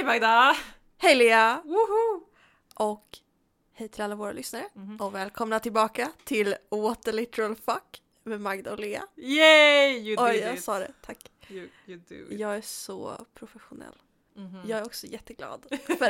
Hej Magda! Hej Lea! Woho! Och hej till alla våra lyssnare. Och välkomna tillbaka till What the Literal Fuck med Magda och Lea. Yay! You Oj, did jag it. sa det. Tack. You do it. Jag är så professionell. Mhm. Jag är också jätteglad. För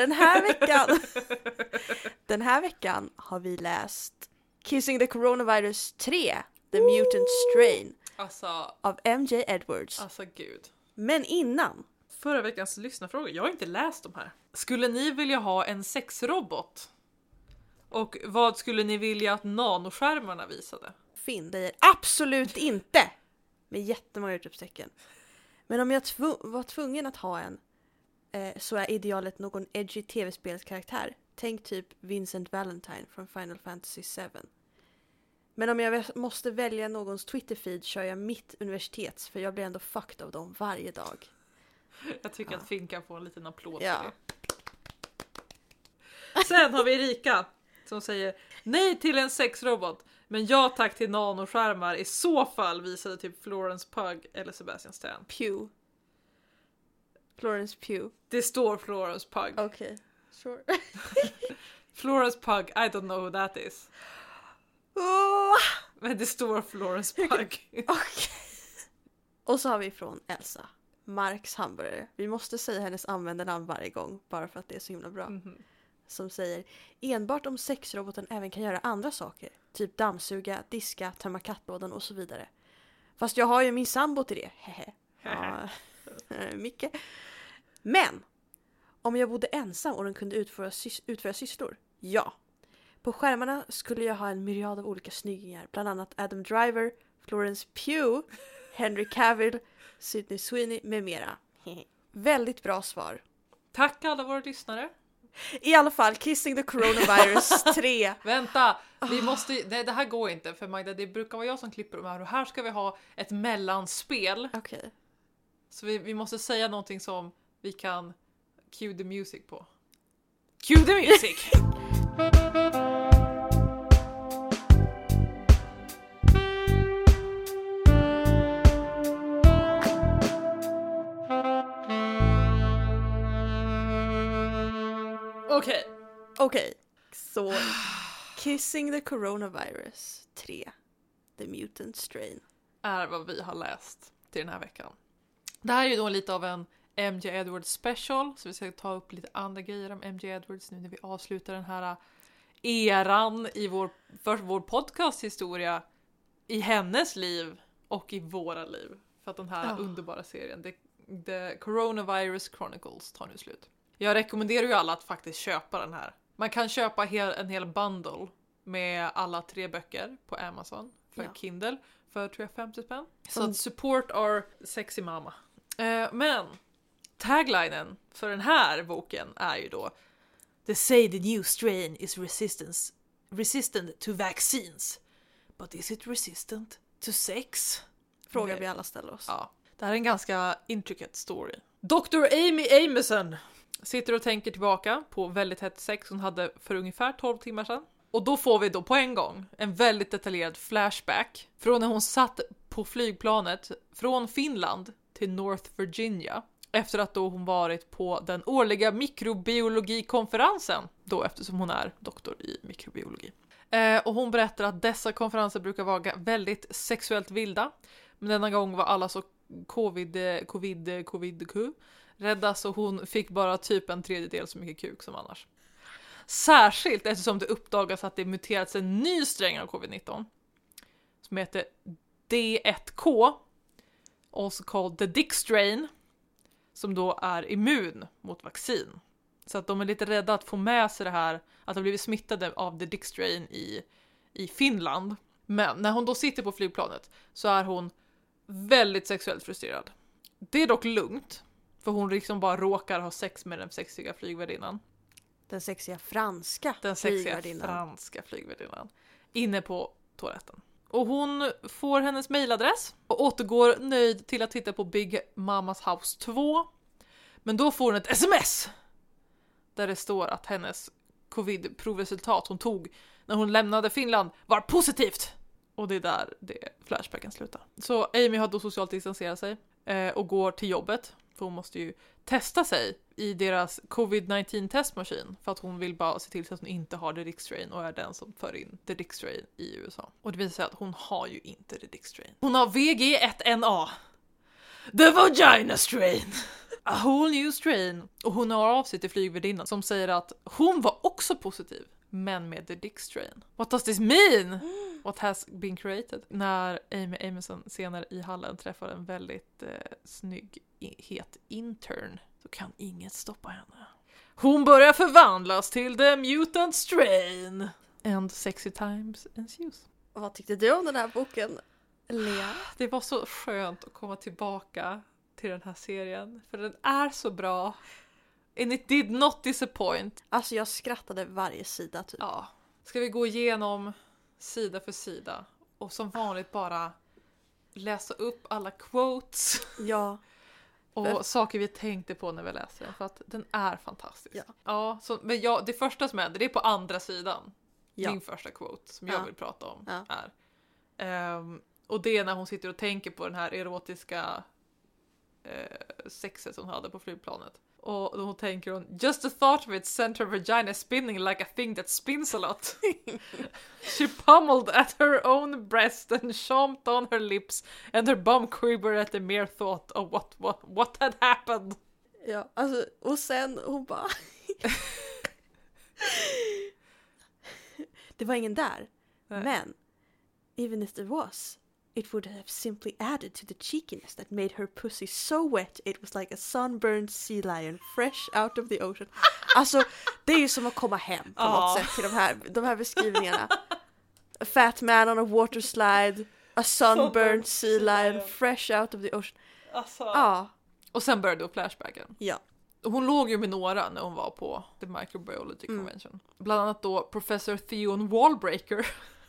den här veckan har vi läst Kissing the Coronavirus 3, The Mutant Strain Alltså, av MJ Edwards. gud. Men innan, Förra veckans lyssnarfråga, jag har inte läst de här. Skulle ni vilja ha en sexrobot? Och vad skulle ni vilja att nanoskärmarna visade? Finn säger absolut inte! Med jättemånga utropstecken. Men om jag var tvungen att ha en så är idealet någon edgy tv-spelskaraktär. Tänk typ Vincent Valentine från Final Fantasy 7. Men om jag måste välja någons Twitter-feed kör jag mitt universitets, för jag blir ändå fucked av dem varje dag. Jag tycker att Finn kan få en liten applåd Ja. för det. Sen har vi Erika som säger nej till en sexrobot, men ja tack till nanoskärmar. I så fall visade typ Florence Pugh eller Sebastian Stan. Pugh. Florence Pugh. Det står Florence Pugh. Okej, sure. Florence Pugh, I don't know who that is. Oh, Men det står Florence Pugh. okej. Och så har vi från Elsa. Marks hamburgare. Vi måste säga hennes användarnamn varje gång, bara för att det är så himla bra. Mhm. Som säger, enbart om sexroboten även kan göra andra saker. Typ dammsuga, diska, tömma kattlådan och så vidare. Fast jag har ju min sambo till det. Hehe. Ja, mycket. Men, om jag bodde ensam och den kunde utföra sysslor, ja. På skärmarna skulle jag ha en myriad av olika snyggingar. Bland annat Adam Driver, Florence Pugh, Henry Cavill, Sydney Sweeney med mera. Väldigt bra svar. Tack alla våra lyssnare. I alla fall, Kissing the Coronavirus 3. Vänta, vi måste, det här går inte för Magda, det brukar vara jag som klipper de här och här ska vi ha ett mellanspel. Okej. Så vi måste säga någonting som vi kan cue the music på. Cue the music! Okej, så Kissing the Coronavirus 3, The Mutant Strain. Är vad vi har läst till den här veckan. Det här är ju då lite av en MJ Edwards special, så vi ska ta upp lite andra grejer om MJ Edwards nu när vi avslutar den här eran i vår podcasthistoria, i hennes liv och i våra liv. För att den här underbara serien, The Coronavirus Chronicles, tar nu slut. Jag rekommenderar ju alla att faktiskt köpa den här. Man kan köpa en hel bundle med alla 3 böcker på Amazon för Kindle för tror jag 50 spänn. Så att support our sexy mama. Men taglinen för den här boken är ju då They say the new strain is resistant to vaccines. But is it resistant to sex? Frågar vi alla ställer oss. Ja, det här är en ganska intricate story. Dr. Amy Amerson sitter och tänker tillbaka på väldigt hett sex hon hade för ungefär 12 timmar sedan. Och då får vi då på en gång en väldigt detaljerad flashback från när hon satt på flygplanet från Finland till North Virginia. Efter att då hon varit på den årliga mikrobiologikonferensen. Då eftersom hon är doktor i mikrobiologi. Och hon berättar att dessa konferenser brukar vara väldigt sexuellt vilda. Men denna gång var alla så covid rädda så hon fick bara typ en tredjedel så mycket kuk som annars. Särskilt eftersom det uppdagas att det muterats en ny sträng av covid-19 som heter D1K, also called the Dick strain, som då är immun mot vaccin. Så att de är lite rädda att få med sig det här, att de blivit smittade av the Dick strain i Finland. Men när hon då sitter på flygplanet så är hon väldigt sexuellt frustrerad. Det är dock lugnt, för hon liksom bara råkar ha sex med den sexiga flygvärdinnan. Den sexiga franska flygvärdinnan. Inne på toaletten. Och hon får hennes mailadress och återgår nöjd till att titta på Big Mamas House 2. Men då får hon ett sms där det står att hennes covid-provresultat hon tog när hon lämnade Finland var positivt. Och det är där flashbacken slutar. Så Amy har då socialt distanserat sig och går till jobbet. För hon måste ju testa sig i deras covid-19 testmaskin för att hon vill bara se till så att hon inte har the Dick strain och är den som för in the Dick strain i USA. Och det visar sig att hon har ju inte the Dick strain. Hon har VG1NA. The vagina strain. A whole new strain. Och hon har av sig till flygvärdinnan som säger att hon var också positiv, men med the Dick strain. What does this mean? What has been created? När Amy Amison senare i hallen träffar en väldigt snygg, het intern, så kan inget stoppa henne. Hon börjar förvandlas till the mutant strain. And sexy times ensues. Vad tyckte du om den här boken, Lea? Det var så skönt att komma tillbaka till den här serien. För den är så bra. And it did not disappoint. Alltså jag skrattade varje sida typ. Ja. Ska vi gå igenom sida för sida och som vanligt bara läsa upp alla quotes Ja. och saker vi tänkte på när vi läser den, för att den är fantastisk. Ja, så, men det första som händer, det är på andra sidan. Ja. Min första quote som jag vill prata om är. Och det är när hon sitter och tänker på den här erotiska sexet som hon hade på flygplanet. Och då tänker hon, just the thought of it sent her vagina spinning like a thing that spins a lot. She pummeled at her own breast and chomped on her lips and her bum quivered at the mere thought of what had happened. Ja, alltså, och sen hon bara... Det var ingen där. Nej. Men, even if there was, it would have simply added to the cheekiness that made her pussy so wet it was like a sunburned sea lion fresh out of the ocean. Alltså, det är ju som att komma hem på något sätt till de här beskrivningarna. A fat man on a water slide, a sunburned sea lion fresh out of the ocean. Alltså. Ja. Och sen började då flashbacken. Ja. Hon låg ju med några när hon var på The Microbiology Convention. Bland annat då Professor Theon Wallbreaker.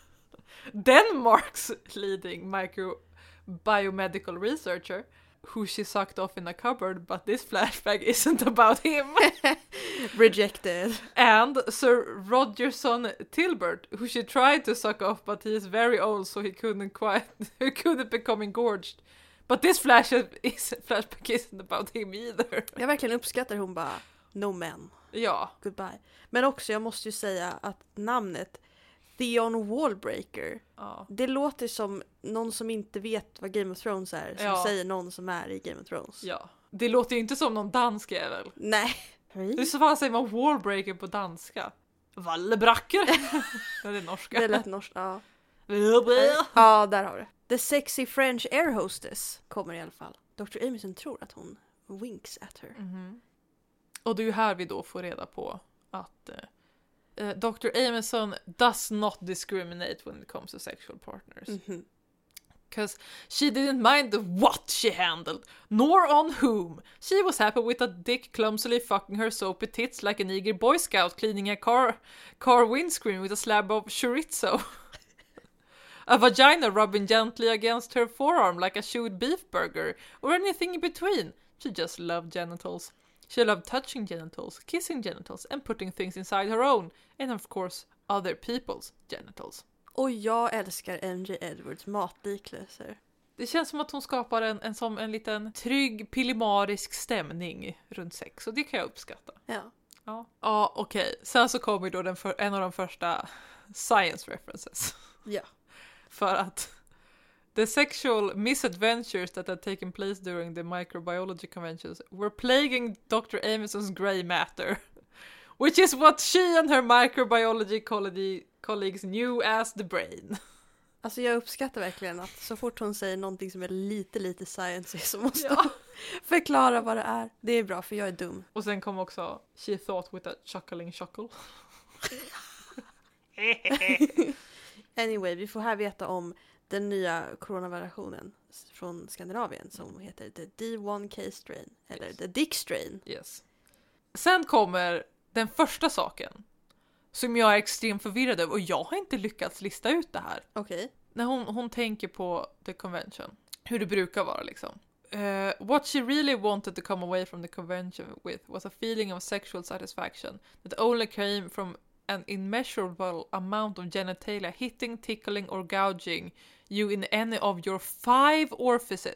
Denmark's leading microbiomedical researcher, who she sucked off in a cupboard, but this flashback isn't about him. Rejected. And Sir Rogerson Tilbert, who she tried to suck off, but he is very old, so he couldn't become engorged. But this flashback isn't about him either. Jag verkligen uppskattar hon bara, no men. Ja. Goodbye. Men också, jag måste ju säga att namnet Theon Wallbreaker, det låter som någon som inte vet vad Game of Thrones är, som säger någon som är i Game of Thrones. Ja. Det låter ju inte som någon dansk jävel. Nej. Hur så fan säger man Wallbreaker på danska? Vallebracker? Det är norska. Det lät norskt, ja. Ja, Ja, där har du. The sexy French air hostess kommer i alla fall. Dr. Amison tror att hon winks at her. Mm-hmm. Och det är ju här vi då får reda på att Dr. Amison does not discriminate when it comes to sexual partners. Mm-hmm. Because she didn't mind the what she handled, nor on whom. She was happy with a dick clumsily fucking her soapy tits like an eager boy scout cleaning a car windscreen with a slab of chorizo. A vagina rubbing gently against her forearm like a chewed beef burger, or anything in between. She just loved genitals. She loved touching genitals, kissing genitals, and putting things inside her own, and of course, other people's genitals. Och jag älskar MJ Edwards matliknelser. Det känns som att hon skapar en liten trygg, pillemarisk stämning runt sex, och det kan jag uppskatta. Ja, okej. Sen så kommer då en av de första science references. Ja. För att the sexual misadventures that had taken place during the microbiology conventions were plaguing Dr. Amison's grey matter, which is what she and her microbiology colleagues knew as the brain. Alltså jag uppskattar verkligen att så fort hon säger någonting som är lite science så måste hon förklara vad det är. Det är bra, för jag är dum. Och sen kom också she thought with a chuckling chuckle. Anyway, vi får här veta om den nya coronavariationen från Skandinavien som heter the D1K strain, eller the Dick strain. Yes. Sen kommer den första saken som jag är extremt förvirrad över, och jag har inte lyckats lista ut det här. Okej. När hon tänker på the convention, hur det brukar vara liksom. What she really wanted to come away from the convention with was a feeling of sexual satisfaction that only came from an immeasurable amount of genitalia hitting, tickling or gouging you in any of your 5 orifices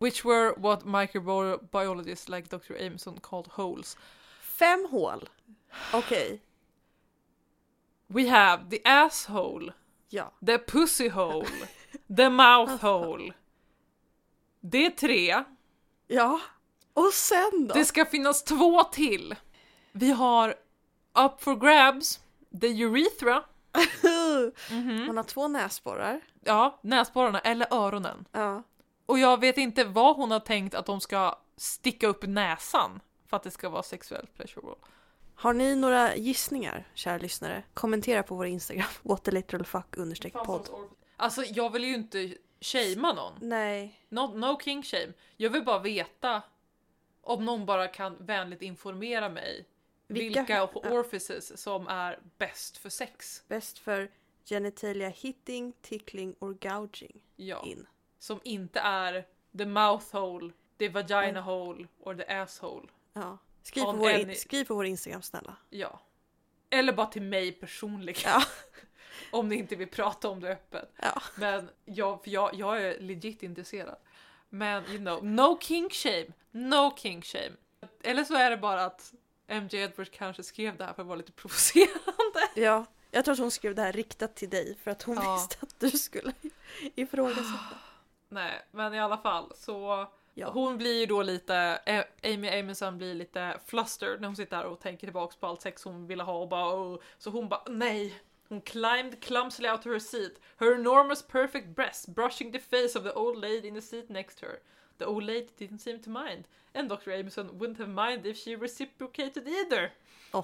which were what microbiologists like Dr. Ameson called holes. 5 hål. Okej. We have the asshole, Ja. the pussy hole, the mouth hole. Det är 3. Ja. Och sen då? Det ska finnas 2 till. Vi har up for grabs, the urethra. Hon har 2 näsborrar. Ja, näsborrarna eller öronen. Ja. Och jag vet inte vad hon har tänkt att de ska sticka upp näsan för att det ska vara sexuellt pleasurable. Har ni några gissningar, kära lyssnare? Kommentera på vår Instagram, whataliteralfuck_podd. Alltså jag vill ju inte shamea någon. Nej. No king shame. Jag vill bara veta om någon bara kan vänligt informera mig vilka orifices som är bäst för sex. Bäst för genitalia hitting, tickling or gouging. Ja. In. Som inte är the mouth hole, the vagina hole or the asshole. Ja. Skriv på vår Instagram, snälla. Ja. Eller bara till mig personligen. Ja. Om ni inte vill prata om det öppet. Ja. Men jag är legit intresserad. Men you know, no king shame. No king shame. Eller så är det bara att MJ Edwards kanske skrev det här för att vara lite provocerande. Ja. Jag tror att hon skrev det här riktat till dig för att hon visste att du skulle ifrågasätta. Nej, men i alla fall så Ja. hon blir ju då lite Amy Ameson blir lite flustered när hon sitter där och tänker tillbaka på allt sex hon ville ha och bara så hon bara nej. Hon climbed clumsily out of her seat, her enormous perfect breast brushing the face of the old lady in the seat next to her. The old lady didn't seem to mind, and Dr. Ameson wouldn't have minded if she reciprocated either.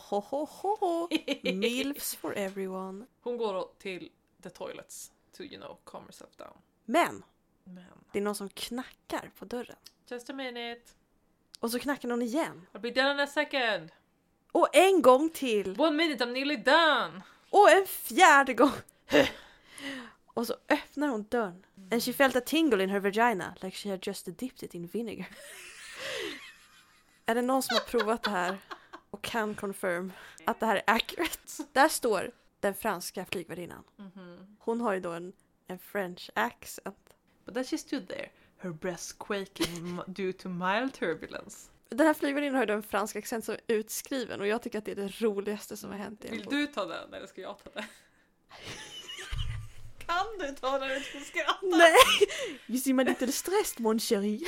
Milfs for everyone. Hon går då till the toilets to, you know, calm herself down. Men det är någon som knackar på dörren. Just a minute. Och så knackar någon igen. I'll be done in a second. Och en gång till. 1 minute, I'm nearly done. Och en 4:e gång. Och så öppnar hon dörren. And she felt a tingle in her vagina, like she had just dipped it in vinegar. Är det någon som har provat det här och kan confirm att det här är accurate? Där står den franska flygvärdinnan. Hon har ju då en French accent. But then she stood there, her breasts quaking due to mild turbulence. Den här flygvärdinnan har ju då en fransk accent som är utskriven och jag tycker att det är det roligaste som har hänt i en Vill bok. du ta den eller ska jag ta den? Kan du ta den utan att skratta? Nej! You see my little stressed, mon chéri.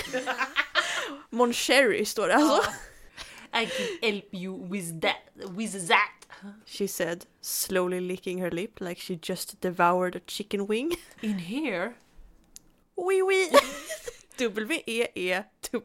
Mon chéri står det alltså. I can help you with that. She said, slowly licking her lip like she just devoured a chicken wing. In here? Oui, oui. W-E-E.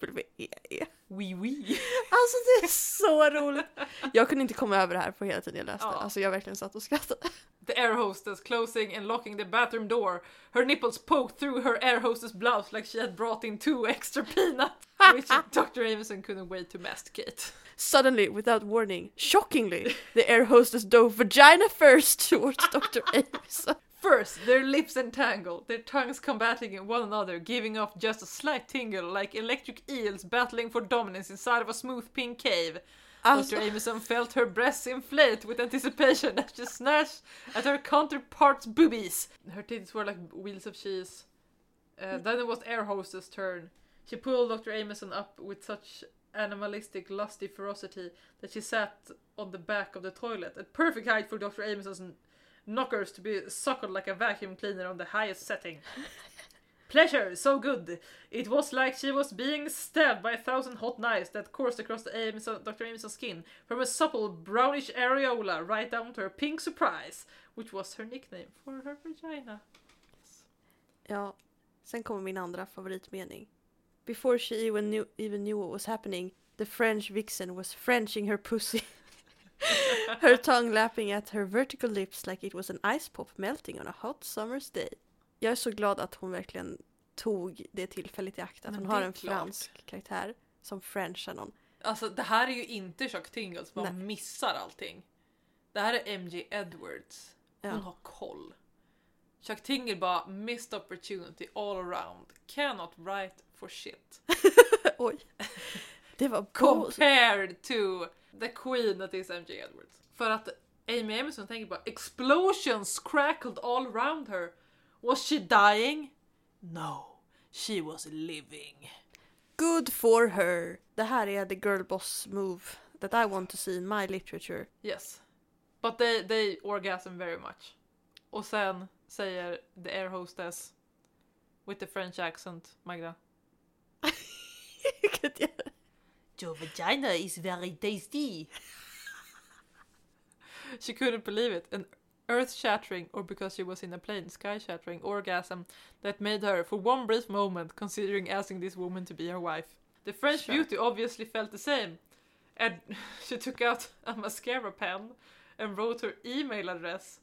Oui. Alltså det är så roligt. Jag kunde inte komma över det här på hela tiden jag läste. Ja. Alltså jag verkligen satt och skrattade. The air hostess closing and locking the bathroom door. Her nipples poked through her air hostess blouse like she had brought in 2 extra peanuts, which Dr. Ameson couldn't wait to masticate. Suddenly, without warning, shockingly, the air hostess dove vagina first towards Dr. Ameson. First, their lips entangle, their tongues combating one another, giving off just a slight tingle like electric eels battling for dominance inside of a smooth pink cave. Alltså, Dr. Ameson felt her breasts inflate with anticipation as she snatched at her counterpart's boobies. Her titties were like wheels of cheese. Then it was air hostess' turn. She pulled Dr. Ameson up with such animalistic, lusty ferocity that she sat on the back of the toilet, at perfect height for Dr. Ameson's knockers to be suckled like a vacuum cleaner on the highest setting. Pleasure, so good. It was like she was being stabbed by 1,000 hot knives that coursed across Dr. Ameson's skin, from a supple brownish areola right down to her pink surprise, which was her nickname for her vagina. ja, sen kommer min andra favoritmening. Before she even knew what was happening, the French vixen was Frenching her pussy. Her tongue lapping at her vertical lips like it was an ice pop melting on a hot summer's day. Jag är så glad att hon verkligen tog det tillfället i akt. Att hon har en fransk karaktär som frenchar någon. Alltså det här är ju inte Chuck Tingles, man missar allting. Det här är MJ Edwards. Hon har koll. Chuck Tingle bara missed opportunity all around. Cannot write for shit. Oj. Det var compared to the queen that is MJ Edwards. För att Amy Ameson tänker bara explosions crackled all around her. Was she dying? No, she was living. Good for her. Det här är the girl boss move that I want to see in my literature. Yes. But they orgasm very much. Och sen säger the air hostess with the French accent, Magda. Your vagina is very tasty. She couldn't believe it. An earth-shattering, or because she was in a plane, sky-shattering orgasm that made her, for one brief moment, considering asking this woman to be her wife. The French beauty obviously felt the same. And she took out a mascara pen and wrote her email address,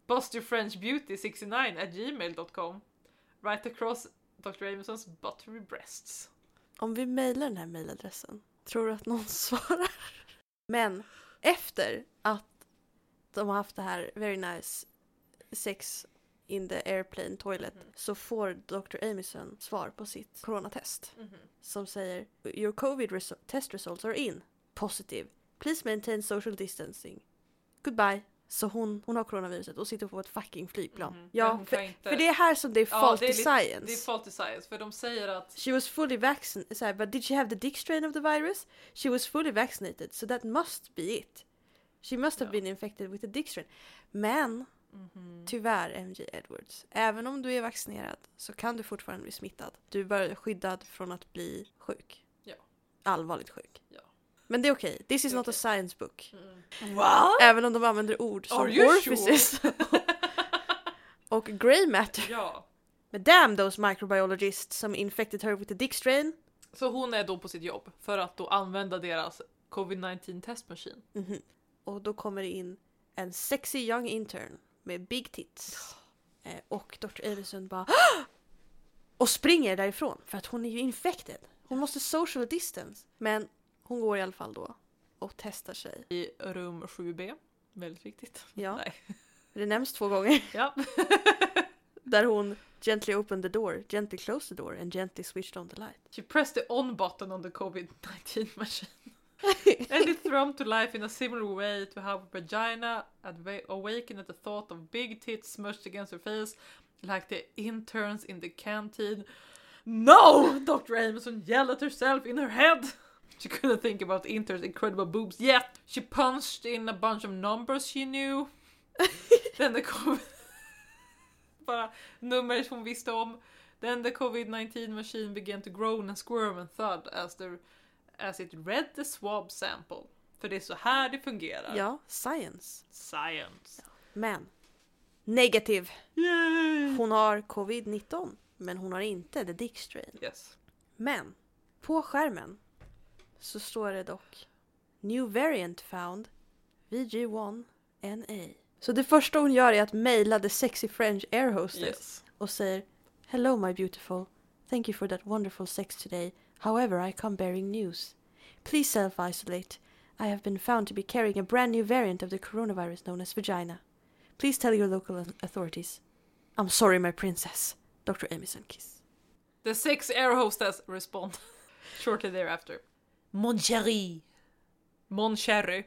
bustyourfrenchbeauty69@gmail.com, right across Dr. Amoson's buttery breasts. Om vi mejlar den här mejladressen, tror du att någon svarar? Men efter att de har haft det här very nice sex in the airplane toilet så får Dr. Amison svar på sitt coronatest som säger your covid test results are in. Positive. Please maintain social distancing. Goodbye. Så hon har coronaviruset och sitter på ett fucking flygplan. Ja, för det är här som det är faulty science. Det är faulty science, för de säger att she was fully vaccinated, but did she have the dick strain of the virus? She was fully vaccinated, so that must be it. She must have been infected with the dick strain. Men tyvärr, MJ Edwards, även om du är vaccinerad så kan du fortfarande bli smittad. Du är bara skyddad från att bli sjuk. Ja. Allvarligt sjuk. Ja. Men det är okej. This is not a science book. What? Även om de använder ord som orifices och grey matter. Ja. Men damn those microbiologists som infected her with the dick strain. Så hon är då på sitt jobb för att då använda deras COVID-19 testmaskin. Och då kommer det in en sexy young intern med big tits. Och Dr. Amison bara och springer därifrån för att hon är ju infected. Hon måste social distance. Men hon går i alla fall då och testar sig. I rum 7B. Väldigt viktigt. Ja. Nej. Det nämns 2 gånger. Ja. Där hon gently opened the door, gently closed the door and gently switched on the light. She pressed the on button on the COVID-19 machine. And it thrummed to life in a similar way to how her vagina awakened at the thought of big tits smushed against her face like the interns in the canteen. No! Dr. Amison yelled at herself in her head. She couldn't think about the interns' incredible boobs yet. She punched in a bunch of numbers she knew. Then the bara nummer hon visste om. Then the COVID-19 machine began to groan and squirm and thud as it read the swab sample. För det är så här det fungerar. Ja, science. Science. Ja. Men, negativ. Yay! Hon har covid-19, men hon har inte the dick strain. Yes. Men, på skärmen så står det dock New variant found VG1NA. Så det första hon gör är att mejla the sexy French air hostess och säger hello my beautiful, thank you for that wonderful sex today. However, I come bearing news. Please self-isolate. I have been found to be carrying a brand new variant of the coronavirus known as vagina. Please tell your local authorities. I'm sorry my princess. Dr. Amison kiss. The six air hostess respond shortly thereafter. Mon chéri. Mon chéri.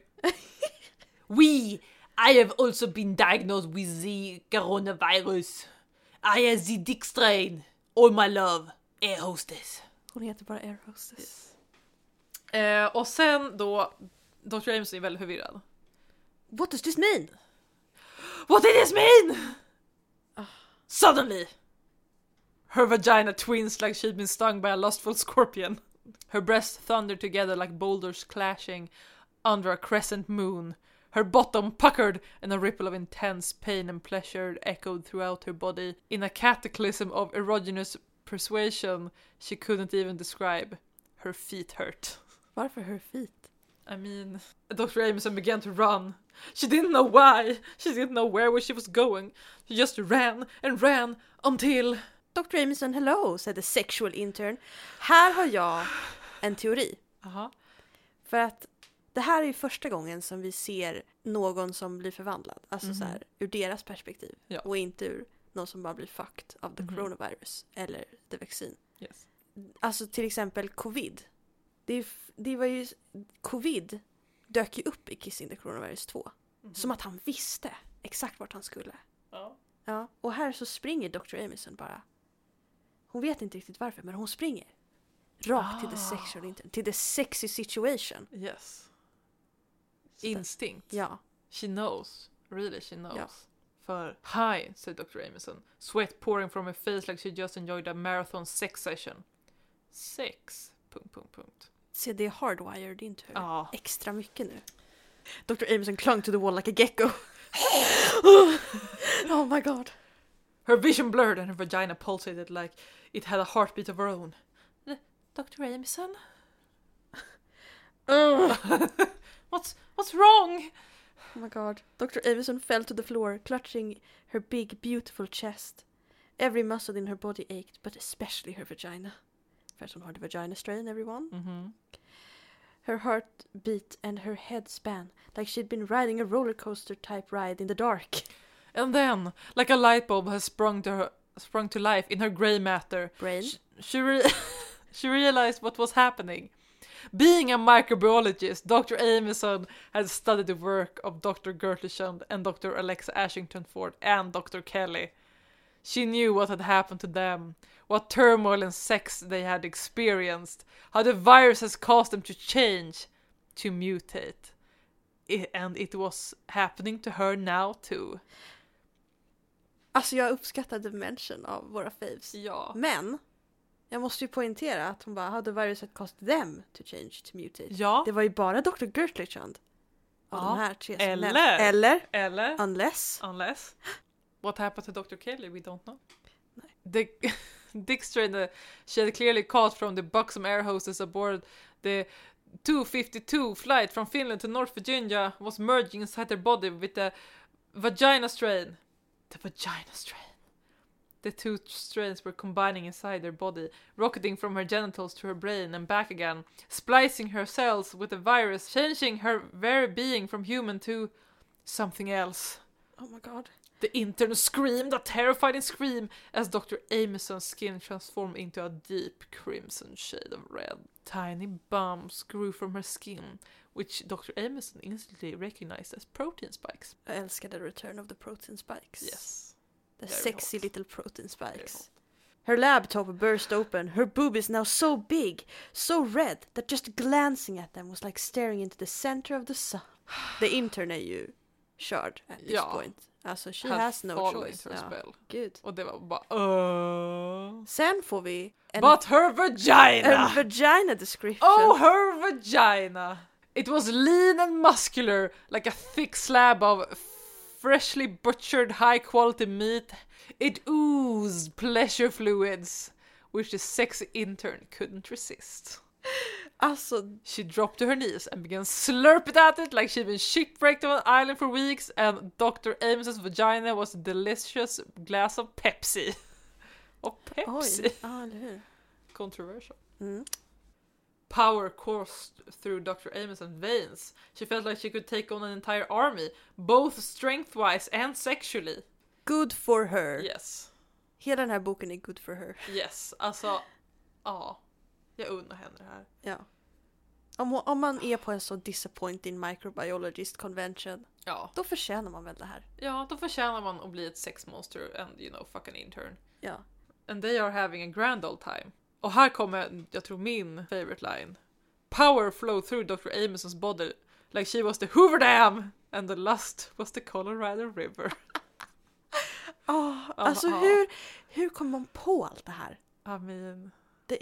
Oui, I have also been diagnosed with the coronavirus. I have the dick strain. All my love, air hostess. Hon heter bara air hostess. Och sen då, Dr. Amison är väldigt förvirrad. What does this mean? What did this mean? Suddenly, her vagina twins like she'd been stung by a lustful scorpion. Her breasts thundered together like boulders clashing under a crescent moon. Her bottom puckered, and a ripple of intense pain and pleasure echoed throughout her body. In a cataclysm of erogenous persuasion she couldn't even describe. Her feet hurt. Varför her feet? I mean, Dr. Amison began to run. She didn't know why. She didn't know where she was going. She just ran and ran until... Dr. Amison, hello, said the sexual intern. Här har jag en teori. Aha. För att det här är ju första gången som vi ser någon som blir förvandlad. Alltså så här, ur deras perspektiv. Ja. Och inte ur någon som bara blir fucked av the coronavirus. Eller the vaccine. Yes. Alltså till exempel covid. Det var ju... Covid dök ju upp i Kissing the Coronavirus 2. Som att han visste exakt vart han skulle. Ja. Ja. Och här så springer Dr. Amison bara. Hon vet inte riktigt varför, men hon springer. Rakt till the sexual intern. Till the sexy situation. Yes. Instinct. Ja. She knows. Really, she knows. Ja. För hi, said Dr. Amison. Sweat pouring from her face like she just enjoyed a marathon sex session. Sex. ... Se, det är hardwired into her. Ja. Extra mycket nu. Dr. Amison clung to the wall like a gecko. Oh my god. Her vision blurred and her vagina pulsated like it had a heartbeat of her own. Dr. Amison? What's wrong? Oh my god. Dr. Amison fell to the floor, clutching her big, beautiful chest. Every muscle in her body ached, but especially her vagina. First one heard the vagina strain, everyone. Mm-hmm. Her heart beat and her head span, like she'd been riding a roller coaster type ride in the dark. And then, like a light bulb has sprung to life in her grey matter, Brain? She realized what was happening. Being a microbiologist, Dr. Amison had studied the work of Dr. Gertleshund and Dr. Alexa Ashington Ford and Dr. Kelly. She knew what had happened to them, what turmoil and sex they had experienced, how the virus has caused them to change, to mutate. And it was happening to her now too. Alltså jag uppskattar dimension av våra faves. Ja. Men jag måste ju poängtera att hon bara hade viruset caused them to change, to mutate. Ja. Det var ju bara Dr. Gertleshund av de här tre som nämnts. Eller Unless. What happened to Dr. Kelly? We don't know. Dick strain she had clearly caught from the buxom air hostess aboard the 252 flight from Finland to North Virginia was merging inside her body with the vagina strain. The vagina strain. The two strains were combining inside her body, rocketing from her genitals to her brain and back again, splicing her cells with the virus, changing her very being from human to something else. Oh my god. The intern screamed a terrifying scream as Dr. Amison's skin transformed into a deep crimson shade of red. Tiny bumps grew from her skin, which Dr. Amison instantly recognized as protein spikes. Jag älskar the return of the protein spikes. Yes. The Very sexy hot. little protein spikes. Her laptop burst open, her boobies now so big, so red, that just glancing at them was like staring into the center of the sun. The intern är ju körd at this point. Alltså she has no choice. Spell. Gud. Och det var bara Sen får vi But her vagina! En vagina description. Oh, her vagina! It was lean and muscular, like a thick slab of freshly butchered high-quality meat. It oozed pleasure fluids, which the sexy intern couldn't resist. Alltså, she dropped to her knees and began slurping at it like she'd been shipwrecked on an island for weeks, and Dr. Amos's vagina was a delicious glass of Pepsi. Och Pepsi. Oj, eller hur? Controversial. Mm. Power coursed through Dr. Amos's veins. She felt like she could take on an entire army, both strength-wise and sexually. Good for her. Yes. Hela den här boken är good for her. Yes, alltså, ja. Jag undrar henne det här. Ja. Om man är på en så disappointing microbiologist convention, då förtjänar man väl det här. Ja, då förtjänar man att bli ett sexmonster and, you know, fucking intern. Ja. And they are having a grand old time. Och här kommer, jag tror, min favorite line. Power flowed through Dr. Amos's body like she was the Hoover Dam and the lust was the Colorado River. Alltså hur kommer man på allt det här? I mean...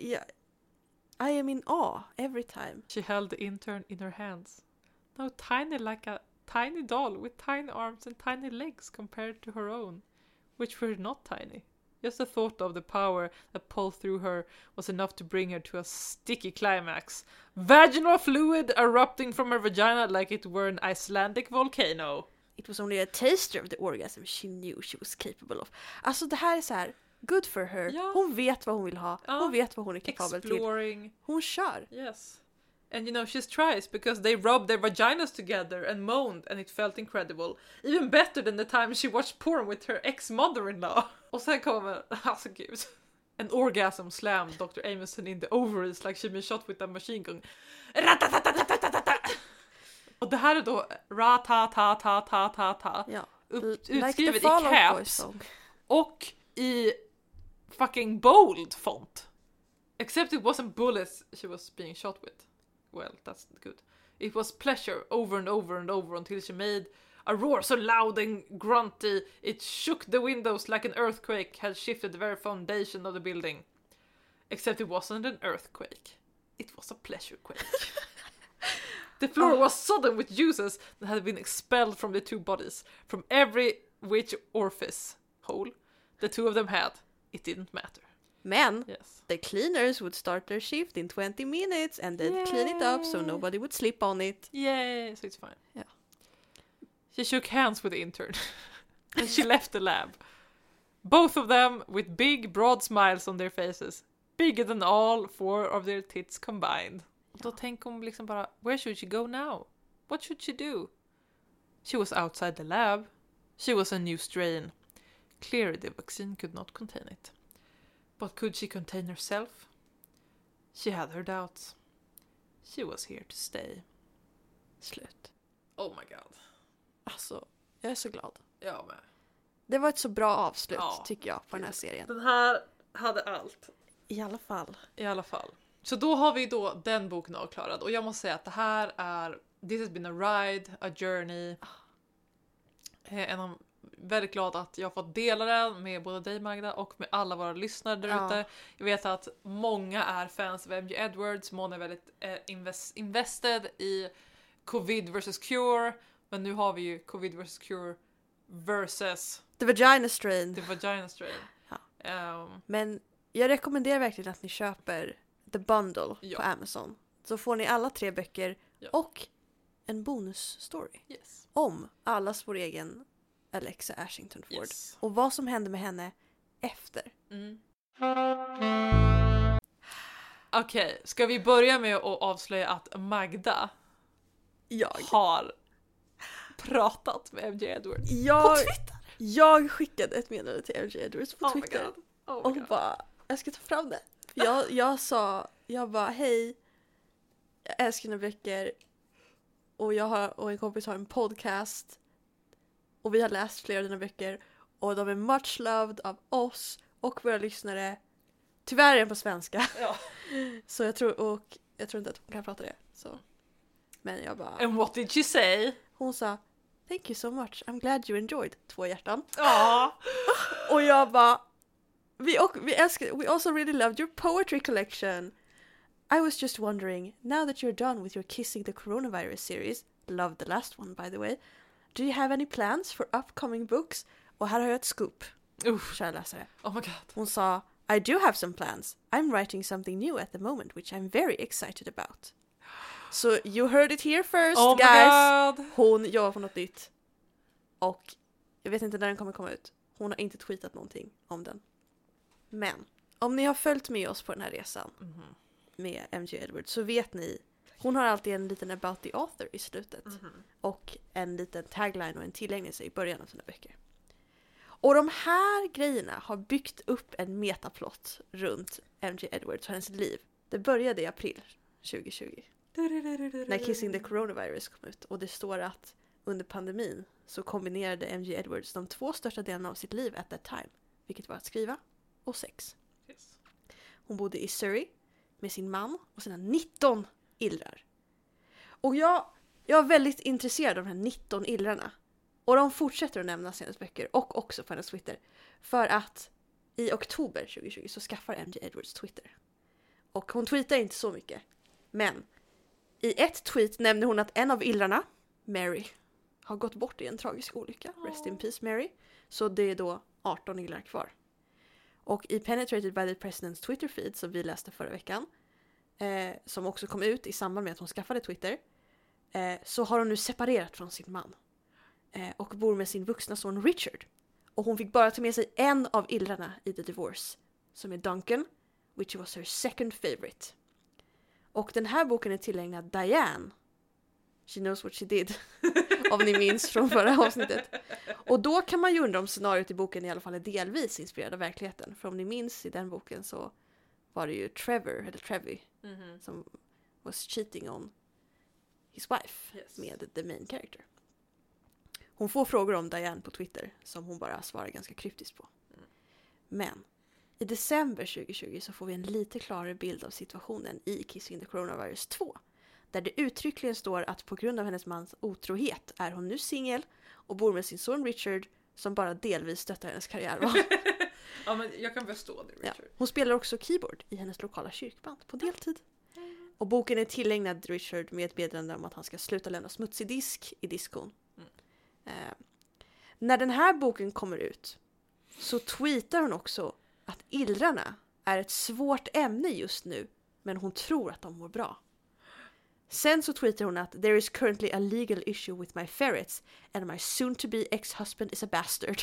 I am in awe every time. She held the intern in her hands. Now tiny like a tiny doll with tiny arms and tiny legs compared to her own, which were not tiny. Just the thought of the power that pulled through her was enough to bring her to a sticky climax. Vaginal fluid erupting from her vagina like it were an Icelandic volcano. It was only a taster of the orgasm she knew she was capable of. Alltså det här är så här, good for her. Ja. Hon vet vad hon vill ha. Hon vet vad hon är kapabel till. Hon kör. Yes. And you know, she's tries because they rubbed their vaginas together and moaned and it felt incredible. Even better than the time she watched porn with her ex-mother-in-law. Och sen kommer, alltså gud. An orgasm slammed Dr. Amison in the ovaries like she'd been shot with a machine gun. Och det här är då ra-ta-ta-ta-ta-ta-ta. Ja. Utskrivet i caps. Och i fucking bold font. Except it wasn't bullets she was being shot with. Well, that's good. It was pleasure over and over and over until she made a roar so loud and grunty it shook the windows like an earthquake had shifted the very foundation of the building. Except it wasn't an earthquake. It was a pleasure quake. The floor was sodden with juices that had been expelled from the two bodies. From every which orifice hole the two of them had. It didn't matter. Men, Yes. the cleaners would start their shift in 20 minutes and they'd clean it up so nobody would slip on it. Yay, so it's fine. Yeah. She shook hands with the intern and she left the lab. Both of them with big, broad smiles on their faces. Bigger than all four of their tits combined. Och då tänker hon liksom bara, where should she go now? What should she do? She was outside the lab. She was a new strain. Clearly the vaccine could not contain it. But could she contain herself? She had her doubts. She was here to stay. Slut. Oh my god. Alltså, jag är så glad. Jag med. Det var ett så bra avslut Ja. tycker jag på den här serien. Den här hade allt. I alla fall. I alla fall. Så då har vi då den boken avklarad. Och jag måste säga att det här är... This has been a ride, a journey. Väldigt glad att jag har fått dela den med både dig Magda och med alla våra lyssnare där ute. Ja. Jag vet att många är fans av MJ Edwards. Många är väldigt invested i Covid vs. Cure. Men nu har vi ju Covid vs. Cure versus The Vagina Strain. The Vagina Strain. Ja. Men jag rekommenderar verkligen att ni köper The Bundle på Amazon. Så får ni alla 3 böcker och en bonusstory Yes. om allas vår egen Alexa Ashington Ford. Yes. Och vad som hände med henne efter. Okej, ska vi börja med att avslöja att Magda har pratat med MJ Edwards på Twitter? Jag skickade ett meddelande till MJ Edwards på Twitter. My God. Och bara, jag ska ta fram det. Jag bara, hej, jag älskar dina böcker. Och jag och en kompis har en podcast. Och vi har läst flera av dina böcker. Och de är much loved av oss och våra lyssnare. Tyvärr är den på svenska. Ja. Så jag tror inte att hon kan prata det. Så. Men jag bara... And what did she say? Hon sa, thank you so much, I'm glad you enjoyed. 2 hjärtan. Ja. Och jag bara, we also really loved your poetry collection. I was just wondering, now that you're done with your Kissing the Coronavirus series, loved the last one by the way, do you have any plans for upcoming books? Och här har jag ett scoop, kära läsare. Oh my god. Hon sa, I do have some plans. I'm writing something new at the moment, which I'm very excited about. So you heard it here first, oh guys. God. Hon jobbar på något nytt. Och jag vet inte när den kommer komma ut. Hon har inte tweetat någonting om den. Men om ni har följt med oss på den här resan med MJ Edwards så vet ni, hon har alltid en liten about the author i slutet. Och en liten tagline och en tillägnelse i början av sina böcker. Och de här grejerna har byggt upp en metaplott runt MJ Edwards och hennes liv. Det började i april 2020. När Kissing the Coronavirus kom ut. Och det står att under pandemin så kombinerade MJ Edwards de 2 största delarna av sitt liv at that time. Vilket var att skriva och sex. Yes. Hon bodde i Surrey med sin man och sina 19 illrar. Och jag är väldigt intresserad av de här 19 illrarna. Och de fortsätter att nämnas i hennes böcker och också på hennes Twitter. För att i oktober 2020 så skaffar MJ Edwards Twitter. Och hon tweetar inte så mycket. Men i ett tweet nämner hon att en av illrarna, Mary, har gått bort i en tragisk olycka. Rest in peace Mary. Så det är då 18 illrar kvar. Och i Penetrated by the President's Twitter feed som vi läste förra veckan, som också kom ut i samband med att hon skaffade Twitter, så har hon nu separerat från sin man. Och bor med sin vuxna son Richard. Och hon fick bara ta med sig en av illrarna i The Divorce, som är Duncan, which was her second favorite. Och den här boken är tillägnad Diane. She knows what she did. Om ni minns från förra avsnittet. Och då kan man ju undra om scenariot i boken i alla fall är delvis inspirerad av verkligheten. För om ni minns i den boken så var det ju Trevi, som was cheating on his wife med the main character. Hon får frågor om Diane på Twitter som hon bara svarar ganska kryptiskt på. Men I december 2020 så får vi en lite klarare bild av situationen i Kissing the Coronavirus 2. Där det uttryckligen står att på grund av hennes mans otrohet är hon nu singel och bor med sin son Richard som bara delvis stöttar hennes karriärval. Ja, men jag kan förstå det, Richard. Ja. Hon spelar också keyboard i hennes lokala kyrkband på deltid. Och boken är tillägnad Richard med ett meddelande om att han ska sluta lämna smutsig disk i diskon. När den här boken kommer ut så tweetar hon också att illrarna är ett svårt ämne just nu, men hon tror att de mår bra. Sen så tweetar hon att there is currently a legal issue with my ferrets and my soon to be ex-husband is a bastard.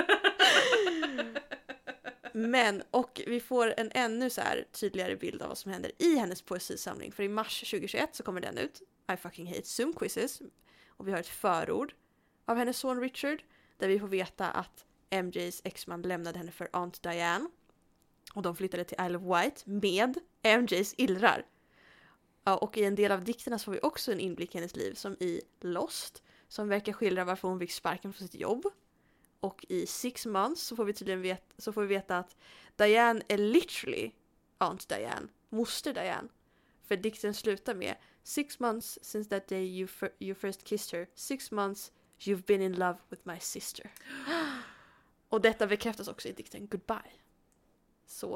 Men, och vi får en ännu så här tydligare bild av vad som händer i hennes poesisamling. För i mars 2021 så kommer den ut. I fucking hate Zoom quizzes. Och vi har ett förord av hennes son Richard. Där vi får veta att MJs exman lämnade henne för Aunt Diane. Och de flyttade till Isle of Wight med MJs illrar. Ja, och i en del av dikterna så får vi också en inblick i hennes liv. Som i Lost. Som verkar skildra varför hon fick sparken från sitt jobb. Och i 6 months så får vi tydligen veta att Diane är literally Aunt Diane, moster Diane. För dikten slutar med 6 months since that day you first kissed her. 6 months you've been in love with my sister. Och detta bekräftas också i dikten Goodbye. Så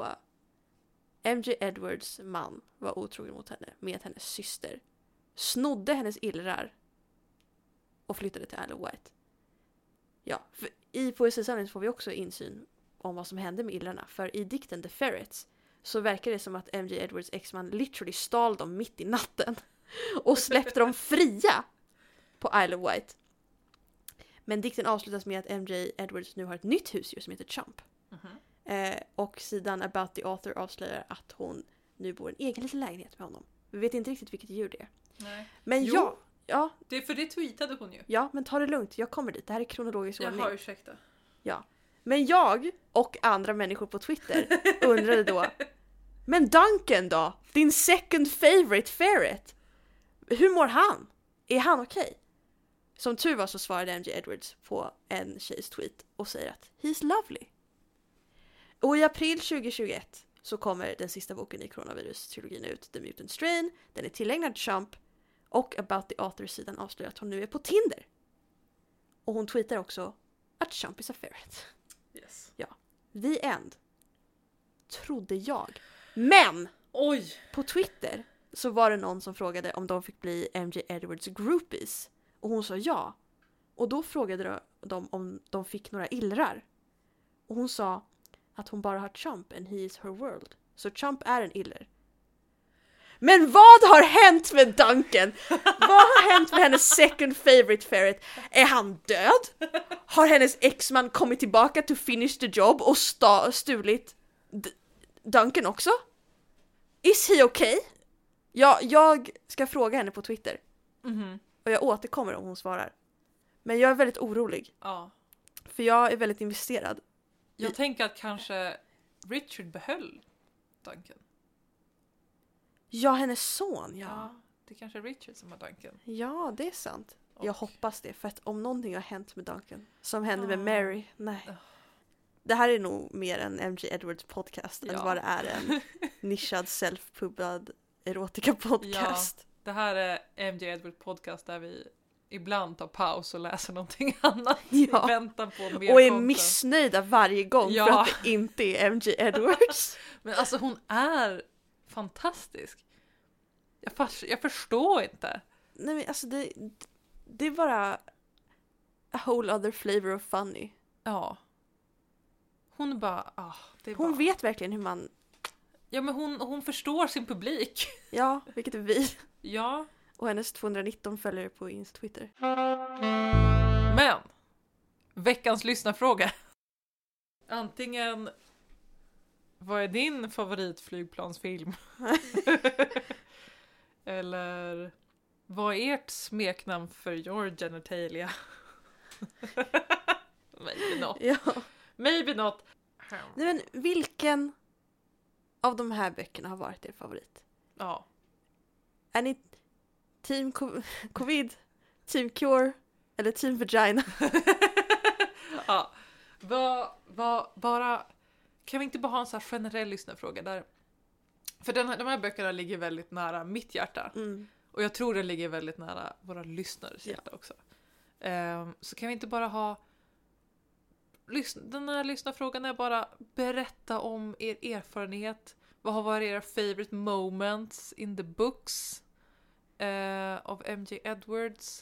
MJ Edwards man var otrogen mot henne med hennes syster. Snodde hennes illrar och flyttade till Isle of Wight. Ja, för i poesisamlingen får vi också insyn om vad som hände med illrarna. För i dikten The Ferrets så verkar det som att MJ Edwards exman literally stal dem mitt i natten och släppte dem fria på Isle of Wight. Men dikten avslutas med att MJ Edwards nu har ett nytt husdjur som heter Chump. Och sidan About the Author avslöjar att hon nu bor i en egen liten lägenhet med honom. Vi vet inte riktigt vilket djur det är. Nej. Men Jo. Ja. Det är för det tweetade hon ju. Ja, men ta det lugnt. Jag kommer dit. Det här är kronologisk ordning. Jaha, ursäkta. Ja. Men jag och andra människor på Twitter undrade då, men Duncan då? Din second favorite ferret? Hur mår han? Är han okej? Som tur var så svarade MJ Edwards på en tjejs tweet och säger att he's lovely. Och i april 2021 så kommer den sista boken i Coronavirus-trilogin ut, The Mutant Strain. Den är tillägnad Chump. Och About the Author-sidan avslöjar att hon nu är på Tinder. Och hon tweetar också att Chump is a ferret. Yes. Ja. The end. Trodde jag. Men! Oj! På Twitter så var det någon som frågade om de fick bli MJ Edwards groupies. Och hon sa ja. Och då frågade de om de fick några illrar. Och hon sa att hon bara har Chump and he is her world. Så Chump är en iller. Men vad har hänt med Duncan? Vad har hänt med hennes second favorite ferret? Är han död? Har hennes exman kommit tillbaka to finish the job och stulit Duncan också? Is he okay? Ja, jag ska fråga henne på Twitter. Och jag återkommer om hon svarar. Men jag är väldigt orolig. Ja. För jag är väldigt investerad. Jag tänker att kanske Richard behöll Duncan. Ja, hennes son, ja. Det är kanske Richard som har Duncan. Ja, det är sant. Och... Jag hoppas det, för att om någonting har hänt med Duncan, som hände med Mary, nej. Det här är nog mer en MJ Edwards podcast än vad det är en nischad self-pubbad erotika podcast. Ja, det här är MJ Edwards podcast där vi ibland tar paus och läser någonting annat i väntan på mer och är content. Missnöjda varje gång för att det inte är MJ Edwards. Men alltså hon är fantastisk. Jag förstår inte. Nej, men alltså det är bara a whole other flavor of funny. Ja. Hon är bara... hon vet verkligen hur man... Ja, men hon förstår sin publik. Ja, vilket är vi. Ja. Och hennes 219 följare på Twitter. Men, veckans lyssnarfråga. Antingen, vad är din favoritflygplansfilm? Eller, vad är ert smeknamn för your genitalia? Maybe not. Ja. Maybe not. Nej, men vilken av de här böckerna har varit er favorit? Ja. Är ni Team Covid, Team Cure eller Team Vagina? Ja. Bara kan vi inte bara ha en så här generell lyssnarfråga där? För de här böckerna ligger väldigt nära mitt hjärta. Och jag tror det ligger väldigt nära våra lyssnares hjärta också. Så kan vi inte bara ha... Den här lyssnarfrågan är bara berätta om er erfarenhet. Vad har varit era favorite moments in the books av MJ Edwards?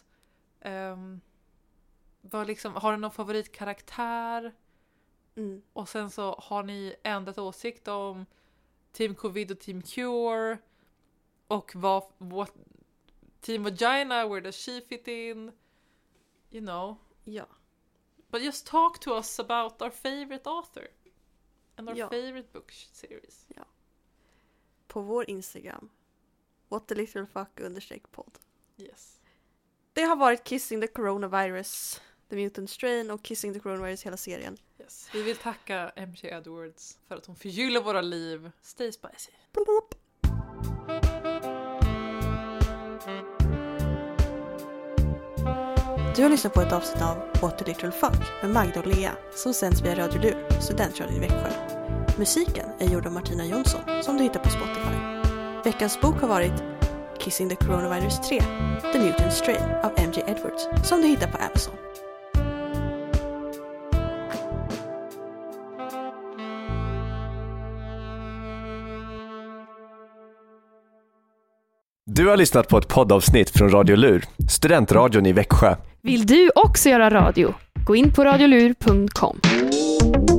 Har du någon favoritkaraktär? Och sen så har ni ändrat åsikt om Team Covid och Team Cure. Och vad Team Vagina, where does she fit in? You know. Ja. But just talk to us about our favorite author. And our favorite book series. Ja. På vår Instagram. whatthelittleffuck_podd. Yes. Det har varit Kissing the Coronavirus, The Mutant Strain och Kissing the Coronavirus hela serien. Yes. Vi vill tacka MJ Edwards för att hon förgyller våra liv. Stay spicy. Bloop. Du har lyssnat på ett avsnitt av What the Little Fuck med Magda och Lea som sänds via Radio Lur, studentradion i Växjö. Musiken är gjord av Martina Jonsson som du hittar på Spotify. Veckans bok har varit Kissing the Coronavirus 3, The Mutant Strain av MJ Edwards som du hittar på Amazon. Du har lyssnat på ett poddavsnitt från Radio Lur, studentradion i Växjö. Vill du också göra radio? Gå in på radiolur.com.